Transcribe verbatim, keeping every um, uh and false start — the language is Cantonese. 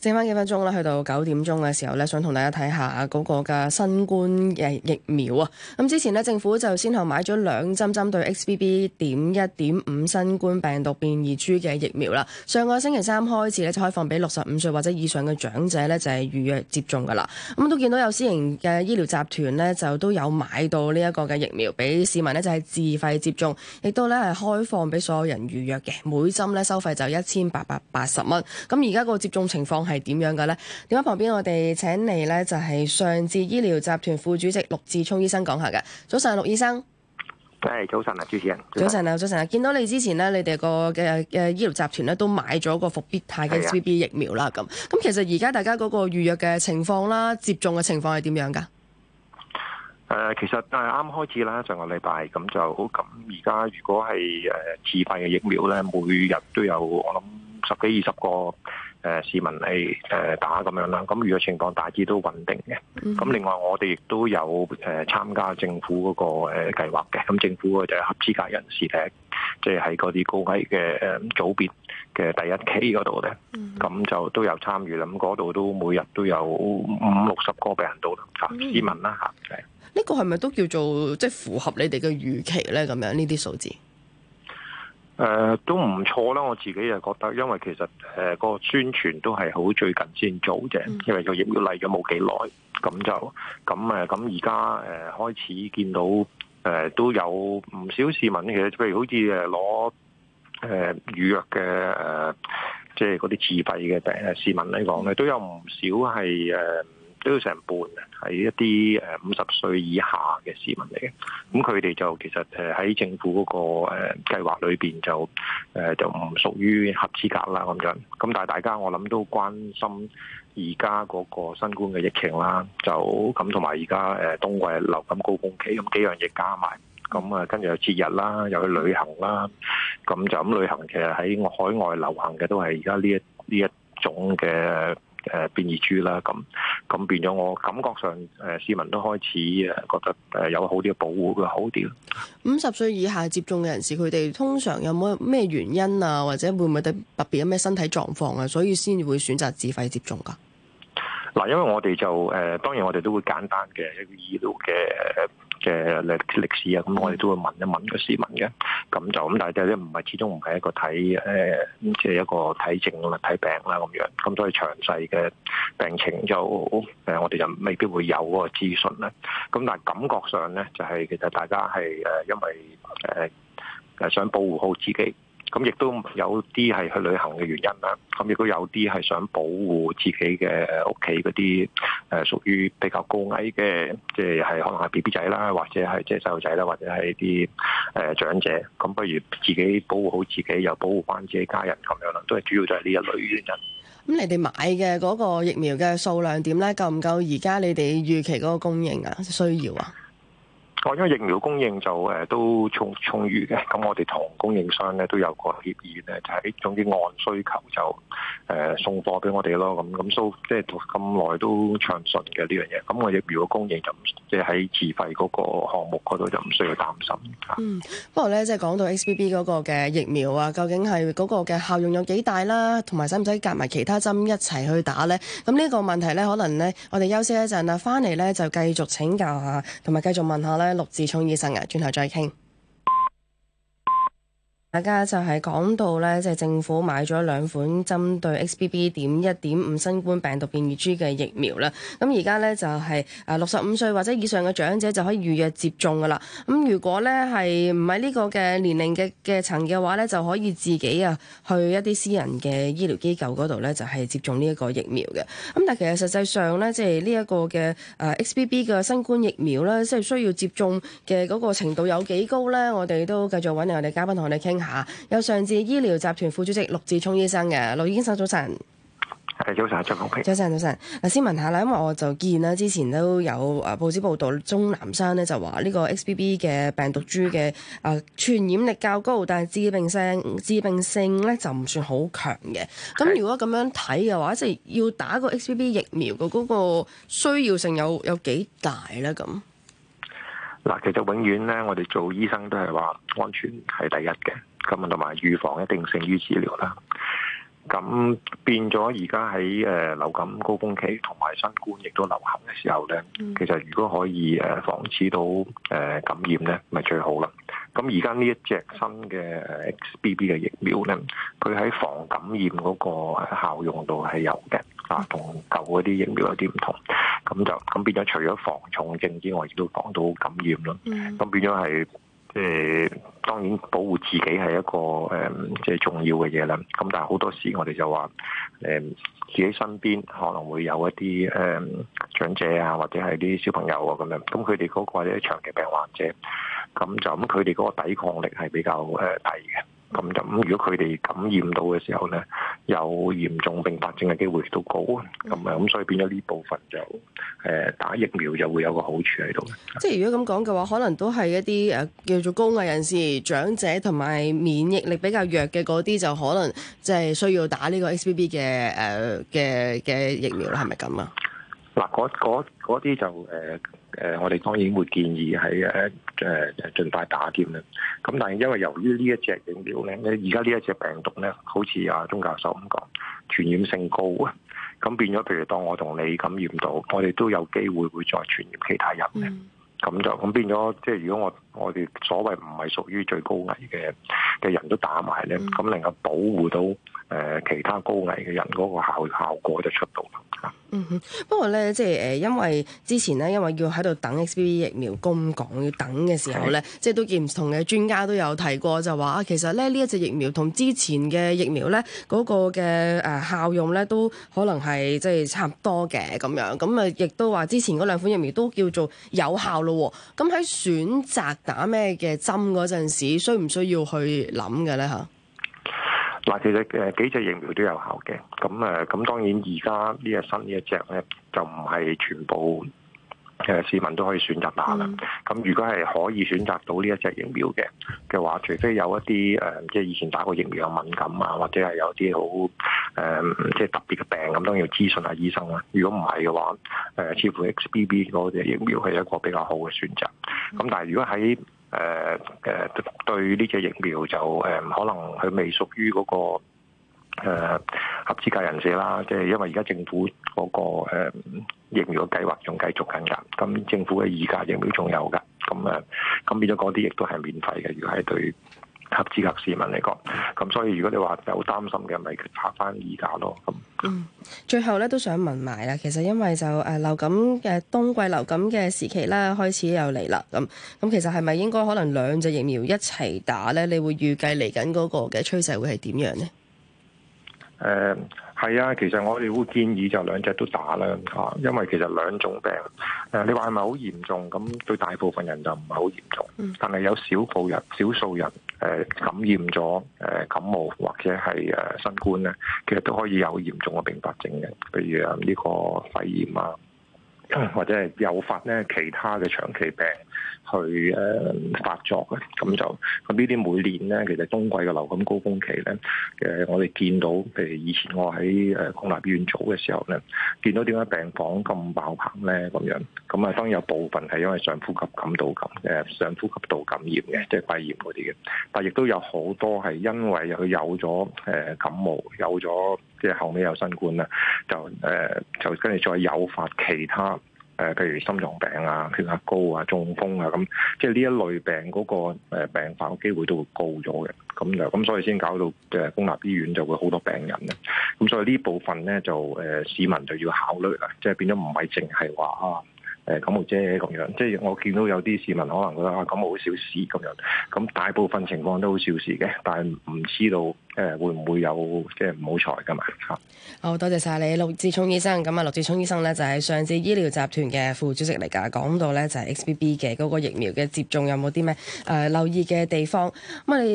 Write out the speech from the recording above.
剩翻幾分鐘啦，去到九點鐘嘅時候咧，想同大家睇下嗰個嘅新冠嘅疫苗啊。咁之前咧，政府就先後買咗兩針針對 X B B. 點一點五新冠病毒變異株嘅疫苗啦。上個星期三開始咧，就開放俾六十五歲或者以上嘅長者咧，就係預約接種噶啦。咁都見到有私營嘅醫療集團咧，就都有買到呢一個嘅疫苗俾市民咧，就係自費接種，亦都咧係開放俾所有人預約嘅。每針咧收費就一千八百八十蚊。咁而家個接種情況係點樣嘅呢？電話旁邊我哋請嚟呢就係上智醫療集團副主席陸志聰醫生講下嘅。早晨，陸醫生。 誒，早晨啊，主持人。 早晨啊，早晨啊，見到你之前呢，你哋個嘅嘅醫療集團咧都買咗個復必泰嘅 X B B 疫苗啦。咁咁其實而家大家嗰個預約嘅情況啦，接種嘅情況係點樣噶？誒、 呃，其實誒啱開始啦，上個禮拜咁就咁。而家如果係誒自費嘅疫苗咧，每日都有我諗十幾二十個。誒、呃、市民嚟誒打咁樣啦，咁預約情況大致都穩定嘅。咁、mm-hmm. 另外我哋亦都有誒、呃、參加政府嗰、那個誒、呃、計劃嘅。咁政府嘅就係合資格人士咧，即係喺嗰啲高危嘅誒組別嘅第一期嗰度咧，咁、mm-hmm. 就都有參與啦。咁嗰度都每日都有五六十個病人到啦，嚇、mm-hmm. 市民啦嚇。 呢個係咪都叫做即係符合你哋嘅預期咧？咁樣呢啲數字？ 誒、呃，都唔錯啦！我自己又覺得，因為其實誒、呃那個宣傳都係好最近先做啫，因為個疫苗嚟咗冇幾耐，咁就咁誒，咁而家誒開始見到誒、呃、都有唔少市民其實，譬如好似誒攞誒預約嘅誒，即係嗰啲自費嘅病誒市民嚟講咧，都有唔少係誒。呃都要成半嘅，係一啲誒五十歲以下嘅市民嚟嘅。咁佢哋就其實誒喺政府嗰個誒計劃裏邊就誒就唔屬於合資格啦咁樣。咁但係大家我諗都關心而家嗰個新冠嘅疫情啦，就咁同埋而家誒冬季流感高峰期，咁幾樣嘢加埋，咁啊跟住有節日啦，又去旅行啦，咁就咁旅行其實喺海外流行嘅都係而家呢一呢一種嘅。誒變異株啦，咁咁變咗，我感覺上誒市民都開始誒覺得誒有好啲嘅保護會好啲。 五十歲以下接種嘅人士，佢哋通常有冇咩原因啊，或者會唔會特別有咩身體狀況啊，所以先會選擇自費接種㗎？ 嗱，因為我哋就誒，當然我哋都會簡單嘅一個醫療嘅嘅歷歷史啊，咁我哋都會問一問個市民嘅，咁就咁，但係咧唔係始終唔係一個睇誒，即係一個睇症啦、睇病啦咁樣，咁所以詳細嘅病情就誒，我哋就未必會有嗰個資訊啦。咁但係感覺上咧，就係其實大家係誒，因為誒誒想保護好自己。咁亦都有啲係去旅行嘅原因啦，咁亦都有啲係想保護自己嘅屋企嗰啲誒屬於比較高危嘅，即係係可能係 B B 仔啦，或者係即係細路仔啦，或者係啲誒長者，咁不如自己保護好自己，又保護翻自己家人咁樣啦，都係主要就係呢一類原因。 咁你哋買嘅嗰個疫苗嘅數量點咧？夠唔夠而家你哋預期嗰個供應啊？需要啊？ 因為疫苗供應就誒都充充裕嘅，咁我哋同供應商咧都有個協議咧，就係總之按需求就誒送貨俾我哋咯，咁咁都即係咁耐都暢順嘅呢樣嘢。咁我疫苗嘅供應就即係喺自費嗰個項目嗰度就唔需要擔心。 嗯，不過咧即係講到 X B B 嗰個嘅疫苗啊，究竟係嗰個嘅效用有幾大啦，同埋使唔使夾埋其他針一齊去打咧？咁呢個問題咧，可能咧我哋休息一陣啦，翻嚟咧就繼續請教下，同埋繼續問下咧。陸志聰醫生啊，轉頭再傾。大家就係講到咧，即係政府買咗兩款針對 X B B. 點一點五新冠病毒變異株嘅疫苗啦。咁而家咧就係誒六十五歲或者以上嘅長者就可以預約接種噶啦。咁如果咧係唔係呢個嘅年齡嘅嘅層嘅話咧，就可以自己啊去一啲私人嘅醫療機構嗰度咧，就係接種呢一個疫苗嘅。咁但係其實實際上咧，即係呢一個嘅誒 X B B 嘅新冠疫苗咧，即係需要接種嘅嗰個程度有幾高咧？我哋都繼續揾嚟我哋嘉賓同我哋傾。有上智醫療集團副主席陸志聰醫生嘅。陸醫生早晨。 係早晨，張國平。 早晨，早晨。嗱，先問下啦，因為我就見啦，之前都有誒報紙報道，鍾南山咧就話呢個 X B B 嘅病毒株嘅誒傳染力較高，但係致病性致病性咧就唔算好強嘅。咁如果咁樣睇嘅話，即係要打個 X B B 疫苗嘅嗰個需要性有有幾大咧？咁嗱，其實永遠咧，我哋做醫生都係話安全係第一嘅。咁同埋預防一定勝於治療啦。 咁變咗而家喺誒流感高峰期同埋新冠亦都流行嘅時候咧，嗯、其實如果可以誒防止到誒感染咧，咪最好啦。咁而家呢一隻新嘅 X B B 嘅疫苗咧，佢喺防感染嗰個效用度係有嘅，啊，同舊嗰啲疫苗有啲唔同。咁就咁變咗，除咗防重症之外，亦都防到感染咯。咁、嗯、變咗係誒，當然保護自己係一個誒，即係重要嘅嘢啦。咁但係好多時我哋就話誒，自己身邊可能會有一啲誒長者啊，或者係啲小朋友啊咁樣。咁佢哋嗰個或者長期病患者，咁就咁佢哋嗰個抵抗力係比較誒低嘅。咁就咁，如果佢哋感染到嘅時候咧，有嚴重併發症嘅機會都高，咁啊，咁所以變咗呢部分就誒打疫苗就會有個好處喺度。 即係如果咁講嘅話，可能都係一啲誒叫做高危人士、長者同埋免疫力比較弱嘅嗰啲，就可能即係需要打呢個 X B B 嘅誒嘅嘅疫苗啦，係咪咁啊？ 嗱，嗰嗰啲就誒。呃誒、呃，我哋當然會建議喺誒誒盡快打添啦。咁但係因為由於呢一隻疫苗咧，而家呢一隻病毒咧，好似阿鐘教授咁講，傳染性高啊。咁變咗，譬如當我同你感染到，我哋都有機會會再傳染其他人嘅。咁、嗯、就咁變咗，即係如果我我哋所謂唔係屬於最高危嘅嘅人都打埋咧，咁、嗯、能夠保護到誒、呃、其他高危嘅人嗰個效效果就出到啦。 嗯哼，不過咧，即係誒，因為之前咧，因為要喺度等 X B B 疫苗公港要等嘅時候咧，即係都見唔同嘅專家都有提過，就話啊，其實咧呢一隻疫苗同之前嘅疫苗咧嗰個嘅誒效用咧都可能係即係差唔多嘅咁樣，咁啊亦都話之前嗰兩款疫苗都叫做有效咯。咁喺選擇打咩嘅針嗰陣時，需唔需要去諗嘅咧嚇？ 嗱，其實誒幾隻疫苗都有效嘅，咁誒咁當然而家呢一新呢一隻咧就唔係全部誒市民都可以選擇打啦。咁、嗯、如果係可以選擇到呢一隻疫苗嘅嘅話，除非有一啲誒即係以前打過疫苗有敏感啊，或者係有啲好誒即係特別嘅病，咁當然要諮詢下醫生啦。如果唔係嘅話，誒似乎 X B B 嗰隻疫苗係一個比較好嘅選擇。咁但係如果喺誒誒、呃、對呢隻疫苗就誒、呃、可能佢未屬於嗰、那個、呃、合資格人士啦，即、就、係、是、因為而家政府嗰、那個、呃、疫苗嘅計劃仲繼續緊㗎，咁政府嘅二價疫苗仲有㗎，咁誒咁變咗嗰啲亦都係免費嘅，如果係對合資格市民嚟講，咁所以如果你話有擔心嘅，咪拍翻二價咯。咁嗯，最後咧都想問埋啦，其實因為就誒流感嘅冬季流感嘅時期啦，開始又嚟啦，咁咁其實係咪應該可能兩隻疫苗一齊打咧？你會預計嚟緊嗰個嘅趨勢會係點樣呢？誒、 呃。係啊，其實我哋會建議就兩隻都打啦，嚇，因為其實兩種病，誒，你話係咪好嚴重？咁對大部分人就唔係好嚴重，嗯、但係有少部人、少數人誒、呃、感染咗誒感冒或者係誒新冠咧，其實都可以有嚴重嘅併發症嘅，譬如啊呢個肺炎啊，或者係誘發咧其他嘅長期病去誒、呃、發作嘅，咁就咁呢啲每年咧，其實冬季嘅流感高峰期咧，誒、呃、我哋見到，譬如以前我喺誒公立醫院做嘅時候咧，見到點解病房咁爆棚咧咁樣，咁啊當然有部分係因為上呼吸感道感誒上呼吸道感染嘅，即係肺炎嗰啲嘅，但係亦都有好多係因為佢有咗誒感冒，有咗即係後尾有新冠啦，就誒、呃、就跟住再誘發其他。誒，譬如心臟病啊、血壓高啊、中風啊，咁即係呢一類病嗰個誒病發嘅機會都會高咗嘅，咁就咁所以先搞到誒公立醫院就會好多病人咧，咁所以呢部分咧就誒市民就要考慮啦，即係變咗唔係淨係話啊誒感冒啫咁樣，即係我見到有啲市民可能覺得啊感冒好小事咁樣，咁大部分情況都好小事嘅，但係唔知道誒會唔會有即係唔好彩㗎嘛嚇。 好多謝晒你，陸志聰醫生。咁啊，陸志聰醫生咧就係上智醫療集團嘅副主席嚟㗎，講到咧就係 X B B 嘅嗰個疫苗嘅接種有冇啲咩誒留意嘅地方咁啊？你